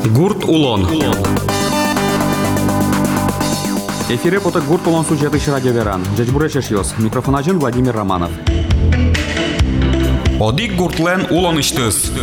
Гурт Улон. Эфире поток Гурт Улон сюжеты радио Веран. Джечбуречешьос. Микрофон один Владимир Романов. Одик Гуртлен Улон иштыс.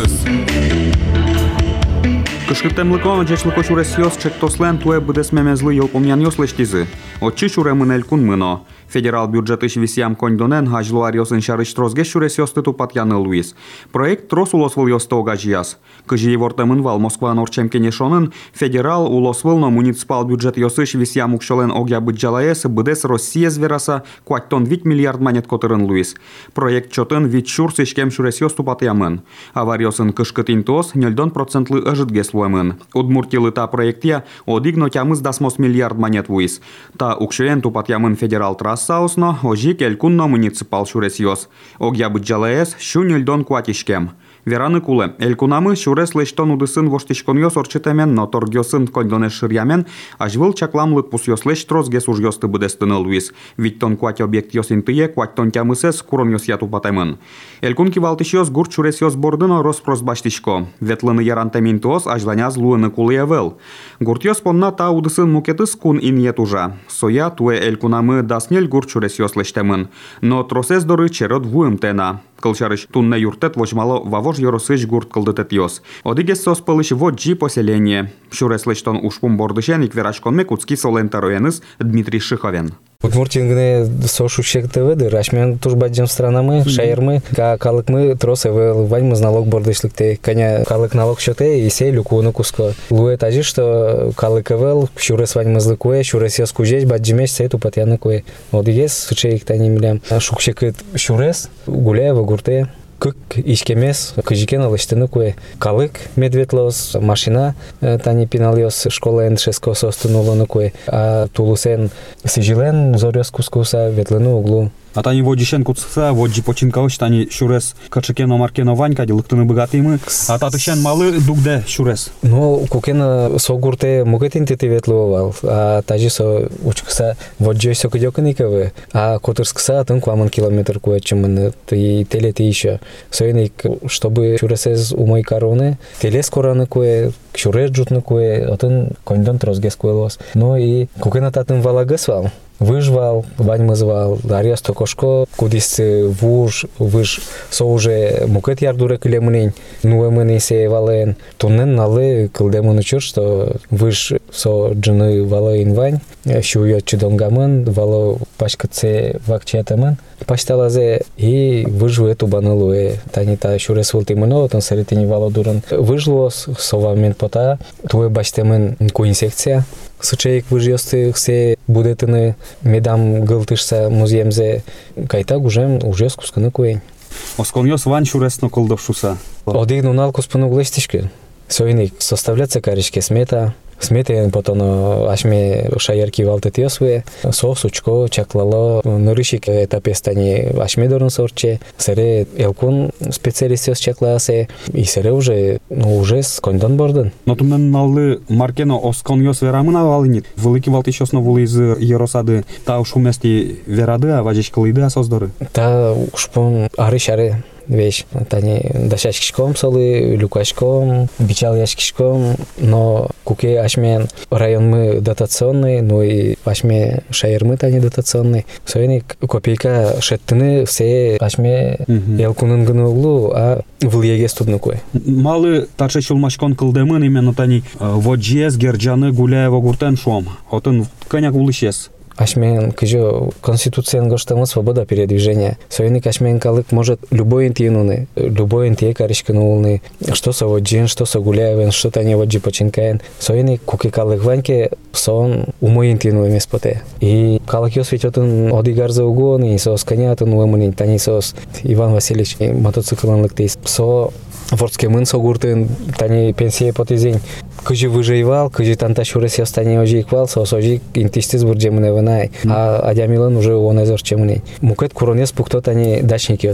Кышкыттемлыкон джечлыко шуресьос чектослен туэ быдес мемезлы йолпомян йослештизы. Отчи шуремынель кун мыно. Федерал бюджетыш висям кондонен хажлуариосын шарыш трозге шуресьос тыту патяны Луис. Проект трос улосвыл йосты огажияс. Кыжи евортемын вал Москва норчем кенешонын федерал улосвыл но муниципал бюджет йосыш висям укшолен огя быджалаес быдес Россия звераса куаттон 8 миллиард монет котырын Луис. Проект чотын вит шур сышкем шуресьос тупатямын. Авариосын кышкытин тос 0,1% ыжытге слуэмын. Удмуртилы та проектия одигно тямыз дасмос миллиард монет Луис. Та укшоен тупатямын федерал трассаусно ожик элькунно муниципал шуресьос. Огя быджалаес шу 0,1 куатишкем. Вераны кулы. Элькунамы шурес лештон удысын воштишкон орчетемен, но торгёсын кондонеш ширямен, ажвыл чакламлык пусёс леш трозге сужёсты быдестыны Луис. Виттон куать объект ёсин тые, куаттон тямысес курон ёс яту патемын. Элькун кивалтышёс гурт шуресёс бордыно роспрос баштишко. Ветлыны ярантемин тос ажланяз луыны кулы евел. Гурт ёс понна та удысын мукетыс кун иньет ужа. Соя туэ элькунамы даснель гурт шуресёс лештемын. Но тросес доры черот вуым тена. Кылчарыш тунне юртет вожмало вавож yorosыш гурт кылдытет ёс. Одигес сос пылыш воджи поселение. Шуреслештон ушпум бордышен икверашкон мекутский солентароеныс Дмитрий Шиховен. Удмуртингне сошу шектеведы, рашмен турбаджем странамы, шайырмы, калыкмы тросевел, ваньмыз налог бордышлыкте, коня калык налог шоте, и сей люкуны куско. Луэ тажи, что калыкевел, шурес ваньмызлы куэ, шурес яс кужеч, баджимеш сей тупатяны куэ. Одигес, сучеик тани милям. Шукшекыт шурес, гуляева гурте. Кык ишкемес, кыжикен алыштыны куэ. Калык медветлос, машина тани пиналиос школа НШСКО состынулыны куэ. А тулусен сижилен зорёс кускуса ветлыны углу. А тани воджишен куцса, воджи починкалыш, тани шурес качекено маркено ванька, лыктыны богатымы, а татышен малы дугде шурес. Ну, кукена согурте мугетин тети ветловал, а тажи со учкса воджой сокидёканикавы, а котырскса тын кваман километр куэчемын, и телети еще. Соеник, чтобы шуресез умой короны, телес кораны куэ, шурес джутны куэ, отын кондон трозгес куэлос. Ну и кукена татын валагасвал. Выжвал, ваньмы звал, арест токошко, кудис вуж, выж соуже мукет ярдуре килемынень, нуэмыны сей вален. Туннен налы кылдемыны чур, что выж со джины валоин вань, шует чудонгамын, вало пачкатсе вакчетамын. Пашталазе и выжу эту банылуэ. Танита шурес вултимыно, тон саритини вало дуран. Выжлос, совамен пота, туэ баштемын куинсекция. Сучейк выжьёсты все будетыны медам гылтышса музеемзе кайта гужем уже скусканы куэн. Осконьос вань шуресно колдовшуса. Одиг нунал куспану глестишки. Соиник составляется каришке смета. Смете потом ашме шаярки валтет ёсве, сос учко чаклало нырышик этапе стани ашме дорн сорче, сере элкун специалист ёс чакласе, и сере уже с кондон борден. Но тумен налы маркено оскон ёс верамына валынит. Велики валти шосно вулы из Еросады, та уж умести верады, а важиш кылыды асоздоры. Та ушпон ары-шары. Вещь, тани дашашкишком солы, люкашком, бичал яшкишком, но куке ашмен район мы дотационный, ну и ашме шайрмы тани дотационный. Соеник копейка шеттыны все ашме елкунын гыны углу, а влиеге студны кой. Малы таче чулмашкон кылдемын именно тани воджес, герджаны, гуляева гуртен шом. Отын коняк улышес. Ашмен кыжо конституциян гоштамы свобода передвижения. Соеник ашмен калык может любой интиенуны, любой интие каришканулны, что со воджин, что со гуляевен, что тани воджи починкаен. Соеник куки калык ваньке сон умой интиенуэ меспоте. И калык ёс ведётын одигар за угон, и сос конятын уэмынин, тани сос Иван Васильевич мотоциклан лыктейс. Со вордске мын согуртын, тани пенсия потезень. Кыжы выживал, кыжы танта шурес ёстани ожиквал, сос ожик интистиз бурджемыне ванай. А адямилан уже он эзор чемыне. Мукет куронес пукто тани дачник ёс.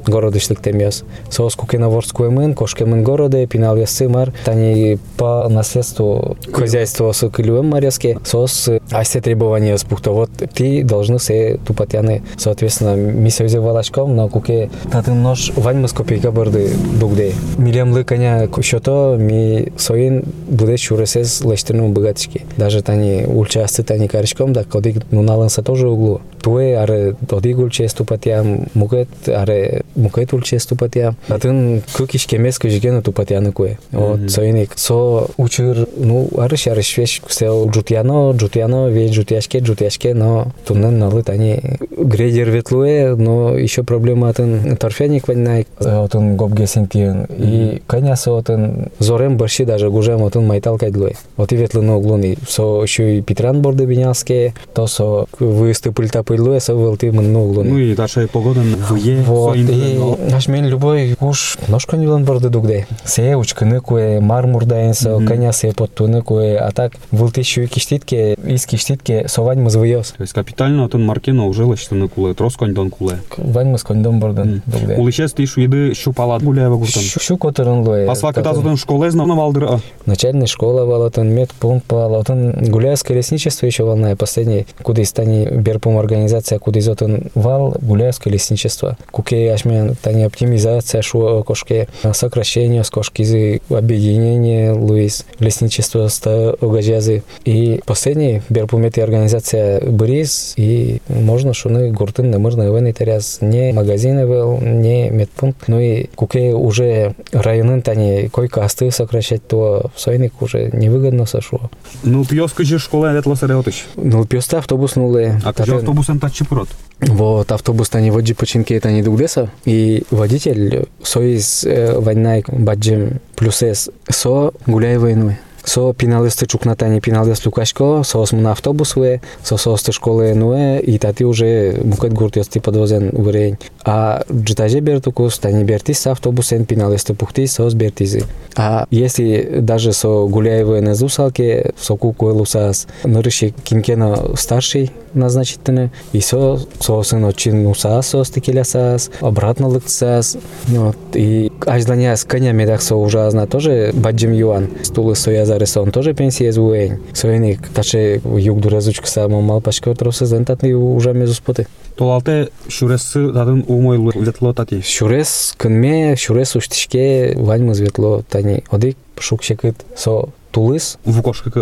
городышлык темёс. Соос кукеноворскую мын, кошкемын городе, пинал ясы мар, тани по наследству хозяйства с кылюем марьяске, соос айсе требования спухто. Вот ты должны се тупотяны, соответственно, мисёзе валачком, но куке татын нож ваньмы с копейка борды дугде. Милемлы коня счето ми соин буде чуресез лештерну богатички. Даже тани ульчасты тани каричком, да кодик нуналанса тоже углу. Туе аре одик ульчес тупотям, мукет аре мукет ульчес тупотям. Татын кукиш кемес кujigenu тупотяны куе. Вот соиник со учур, ну арыш вещь сел джутяно, весь джутяшке, но туннен налы тани грейдер ветлуе, но еще проблема тан торфяник ваннай, тан гобгесинтин и коняса тан зорем борщи даже гужем тан майтал кайдлуе. Вот и ветлыно углуни, со еще и Петран борды бинялские, то со выезды пыльта пыльлуе, со велты мно углуни. Ну и дальше погода в е. Вот и наш мен любой уж ножка не борды дугде. Се учканы куе мармур даенса, коняса подтуны куе, а так велты еще и киштитке, из киштитке совань мы звоёс. То есть капитально тан маркино уже лештыны куле, трос коньдон куле. Вань мы с коньдон бордан дугде. Уличес ты шуиды шупала гуляева гуртан. Шу которын луе. Асла катазотын школе знал валдыра. Начальная школа валатын, медпункт валатын, гуляевское лесничество еще волная последний, куда из тани берпум организация, куда из отын вал гуляевское лесничество. Куке ашмен тани оптимизация шу кошке, сокращение с кошки, объединение луис лесничество ста огажазы. И последний берпумет и организация Борис, и можно шуны гуртын намырный вен таряс не магазины вел, не медпункт, ну и куке уже районын тани койка асты сокращать, то сойник уже невыгодно сошло. Ну пьёска же школа ветла сареотыш. Ну пьёста автобус нуле. А каже автобусен тачи прот. Вот автобус тани воджи починки тани дугдеса, и водитель соиз вайнай баджим плюсес со гуляй войной. Со пиналисты чукнатани пиналист Лукашко, со осмуна автобусуе, со состы школы нуе, и тати уже букет гуртёсти подвозен вырень. А джитаже бертукус, тани бертис автобусен пиналисты пухти, сос бертизи. А если даже со гуляевые на зусалке, со куку лусас, нырыши кинкена старший назначительный, и со сын очень усас, со стекелясас, обратно лыксас, вот, и ажданя с конями так со ужасно тоже баджим юан, стулы сояза он тоже пенсия звуень. Соиник таче юг дуразучка само мал пашка троса зентатни уже мезу споты. Толалте шурес дадын умой ветло тати. Шурес кынме, шурес уштишке ваньмыз ветло тани. Одик шукшекыт со тулыс в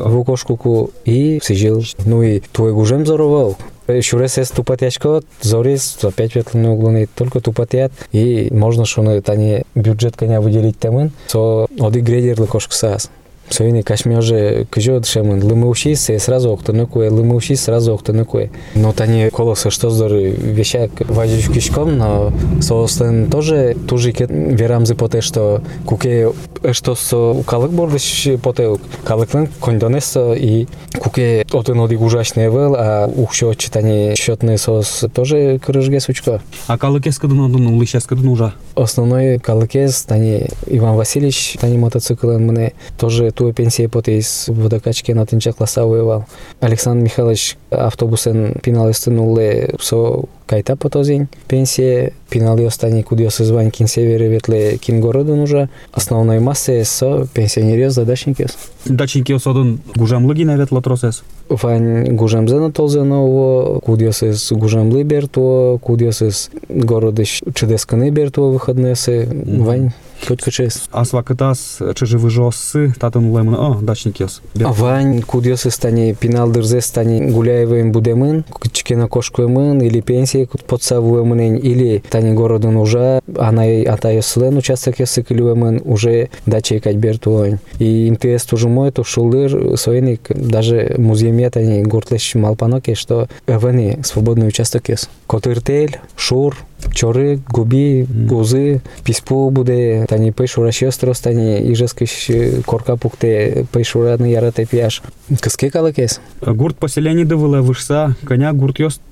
укошку и сижил. Ну и твой гужем зоровал. Шурес эс тупатячко, зорис опять ветлыны углуны, только тупатят. И можно шуны тани бюджет коня выделить темын, со одик грейдер лыкошку саас. Соини кашмёже кыжот шемын лымыушис сразу октоныкуе, лымыушис сразу октоныкуе. Но тани колосы что здоры вещак вазюш кишком, но соостен тоже тужикет верамзы поте, что куке что со калык бордыш поте, калыклын кондонесо и куке отын одик ужасный вел, а ухшо читани счетный сос тоже крыжге сучко. А калыкес кадын одын улышес кадын ужа? Основной калыкес тани Иван Васильевич, тани мотоциклен мне тоже ту пенсия поте из водокачки на тынча класса воевал. Александр Михайлович автобусен пиналисты нуле со кайта потозень. Пенсия пинали остани кудиос звань кин севере ветле кин городу нужа. Основной массе со пенсионерез задачникес. Дачникес одын гужамлыги на ветло тросес. Вань гужамзена толзеново, кудиос из гужамлы берто, кудиос из городыш чедесканы берто выходнесы. Вань только чест. А свакатас чеживы жоссы татын лемын, дачникес. Вань кудиос из тани пинал дырзес тани гуляевым будемын, чекена кошкуемын или пенсии подсавуемын, или тани городын уже, анай атайослен участок ясыкылюемын, уже дача икать бертуань. И интерес тоже мой, то шулыр, соиник, даже музейме тани гуртлеш малпаноке, что эвени свободный участок есть. Котыртель, шур, чоры, губи, гузы, писпу буде, тани пейшура шестрос, тани ижескиш корка пукте, пейшура на ярате пияш. Кыске калыкес? Гурт поселение дывыла вышса, коня гурт ёст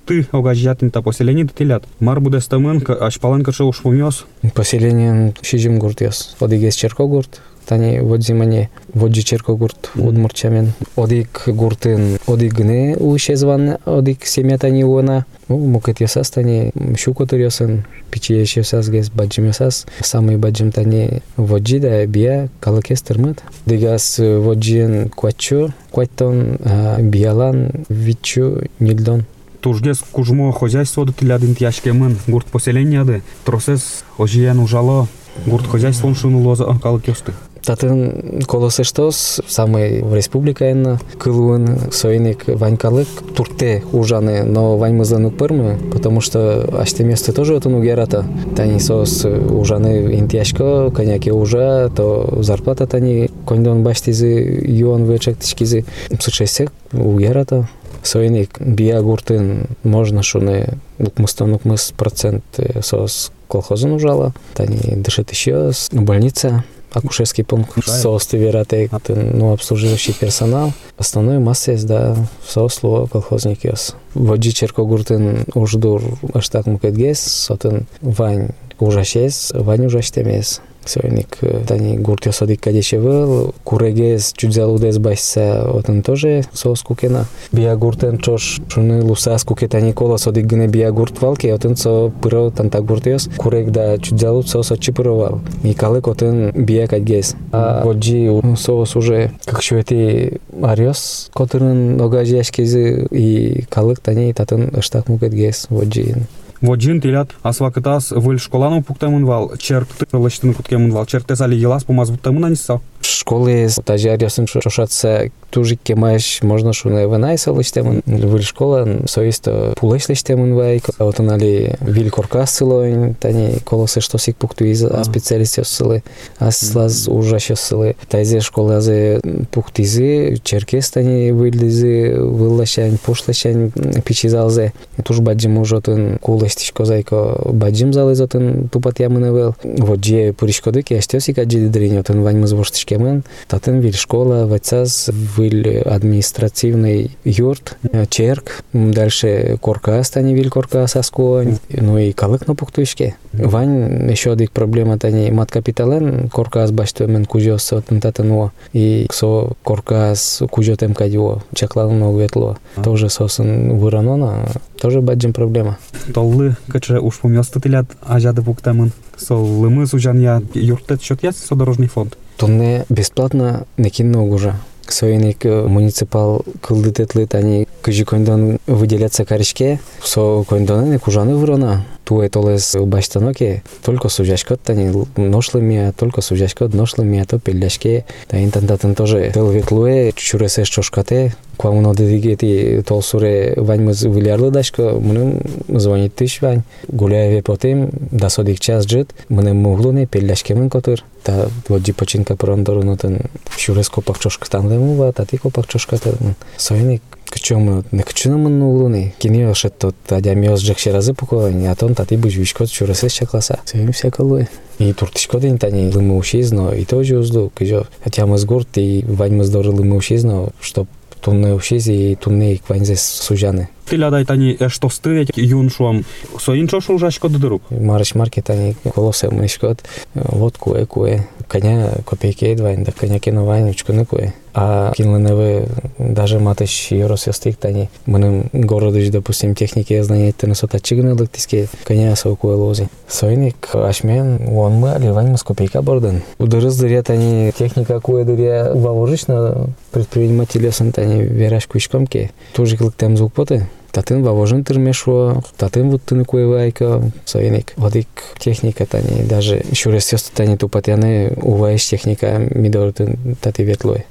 ты огажятин-то поселение тилят. Мар будес тамын, аш паланка уж помёс. Поселение шижим гуртёс. Одигес черко гурт. Тани водзимане воджи черко гурт удмурчамен. Одик гуртын одигне ушезван, одик семья тани уона. Мукет ясас тани щукотыр ясын. Пичиеш ясас гес баджим ясас. Самый баджим тани воджи да бия калакес тырмат. Дегас воджиен квачу, квайтон биялан вичу нильдон. Тужгес кужмо хозяйство до тилядин тяжкемын гурт поселенияды. Тросес ожиян ужало гурт хозяйством шунулоза калакесты. Татын колосештос самый в республика кылуын сойник ванькалык турте ужаны, но ваньмызлан упырмы, потому что аште место тоже отын угерата. Тани сос ужаны интяшко, коняки ужа, то зарплата тани кондон баштизы юан вычектичкизы сучесек угерата. Сойник бия гуртын можно шуны укмыс процент сос колхозын ужала. Тани дышит еще больница. Акушерский пункт, соосты вераты, обслуживающий персонал. Основной масса есть, да, сосло колхозник ёс. Воджи черко гуртын уждур аштак мукетгес, сотын вань ужашес, вань ужаштемес. Сойник тани гуртёс одик кадеше был, курегес чудзалудес басса, отын тоже соос кукена. Бия гуртен чош шуны лусас кукетани колос одик гне бия гурт валки, отын со пыро танта гуртёс, курег да чудзалуд соос отчипыровал. И калык отын бия кадгес. А воджи соос уже как шуэти ариос, которын огажи яшкези и калык тани татын аштак мукетгес воджиин. Воджин тилят асвакытас выль школану пуктамын вал, черкты лыштын куткемын вал, черкте сали елас помазбуттамын анисса. Школы тажи ариосын шошатса тужик кемаш можно шуны ванайса лыштемын. Выль школа соисто пулеш лыштемын вайк, отын али виль коркас сылоин, тани колосы штосик пуктуиз а специалистов сылы, аслаз ужаща сылы. Тайзе школы азе пуктизы, черкес тани выльдизы, выллашань, пушлашань, пичизалзе. Туж баджим ужотын кулестишко зайко баджим залызотын тупат ямынывел. Воджи пуришкодыки аштёсик аджиди дринь, отын ваньмыз воштышкемын. Татын виль школа, вацаз, виль административный юрт, черк. Дальше коркас, тани виль коркас аскуань. Ну и калык на пуктуишке. Вань еще одик проблема тани мат капитален, коркас баштуемен кужёс отын татынуо. И со коркас кужётем кадюо, чаклалын огветло. Тоже сосын выранона, тоже баджим проблема. Толлы, каче уж помёсты тилят ажады пуктамын. Соллымы сужанья юртет счет есть содорожный фонд? Тонне бесплатно некинно уже. Сойник муниципал кылдытетлы тани кыжи кондон выделяться каришке, со кондоны кужаны вырона. Туе толес баштаноке, только сужашкот тани ношлыми, только сужашкот ношлыми, то пелляшке. Та интантатын тоже телветлуе, чуресе шошкате, квамуно дедигети толсуре ваньмыз вылярлы дашко, муним звонит тыш вань. Гуляеве потем, да содик час жит, муним муглуне пелляшкемын котыр. Та воджи починка прондорунутын чурес копак чошкатан лемува, тати копак чошкатан. Сойник кычом не кычынамын углуны. Кине шеттот адямиос жакшеразы пуковань, а тон тати бужвишкот чуресес чакласа. Сойник всякалуе. И туртишкодын тани лымы ушизно, и тоже узлу, кыжо. Хотя мы с гурт и ваньмыз доры лымы ушизно, чтоб тунне ушизи и тунне и кваньзес сужаны. Тилядай тани эштосты юн шуам соин чошу ужашко дырук. Марыш марки тани колосе мышкот, вот куэ. Коня копейки едвань, да коня кино вань учкуны куэ. А кинленевы даже матыш юросёстик тани. Мыным городыш, допустим, техники знания тенесота чигны лыктиске коня со куэ лози. Сойник ашмен, он мы аливань мы с копейка борден. Удырыз дыря тани техника куэ дыря воложично предпринимателёсын тани вераш куишкомке. Тоже клыктем звукпоты. Татын вавожын тырмешо, татын вот тыны куевайка, сойник. Водик техника тани, даже шуресёсты тани тупатяны уваиш техника мидорты таты ветлой.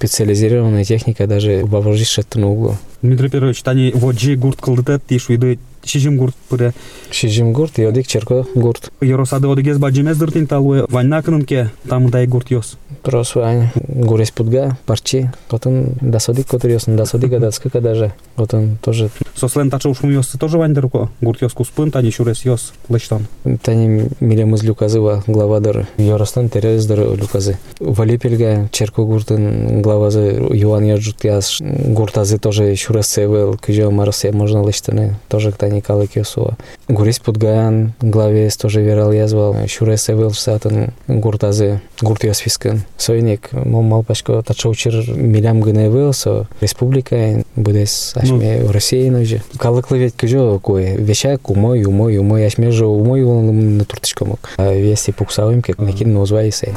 Специализированная техника даже вавожишь на углу. Дмитрий Петрович, тани воджи гурт кылдытет тишуиды Шижим гурт пыре. Шижим гурт, йодик черко гурт. Яросады одыгез баджимез дыртин талуе ваннакынынке тамыдай гурт ёс. Просто Ваня, гурес пудга, парчи, потом досодик, который ёс, досодик, адацкака даже. Вот он тоже. Сослен тача ушум ёсы тоже вандерко. Гурт ёс куспын, тани шурес ёс лыштан. Тани милемыз люказыва главадыр. Яростан терездар люказы. Валепельга черко гуртын главазы Юан яджут яс. Гуртазы тоже шурес севел, кыжо маросе можно лыштаны. Тоже тани калык ёсуа. Гурес пудгаян, главес тоже верал язвал. Шурес севел сатын гуртазы, гурт ёс фискын. Сойник, малпашко тача учир милям гыневел, со республика будес ашме в России ножи. Калыклы ведь кыжо кое вещак умой, ашме же умой на туртышкомок. А вести пуксавым, как накин назвайся.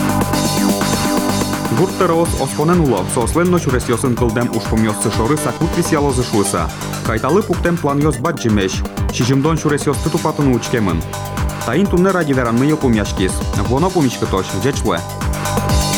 Гурттерос оспонен улов, сосленно чурес ёсын кылдем ушпум ёссы шоры сакут висялозы шуыса. Кайталы пуктем план ёс баджимеш, шижимдон чурес ёсты тупатын учкемын. Таин тунне ради веранны ёпум яшкис, воно пумичка точ, джечле.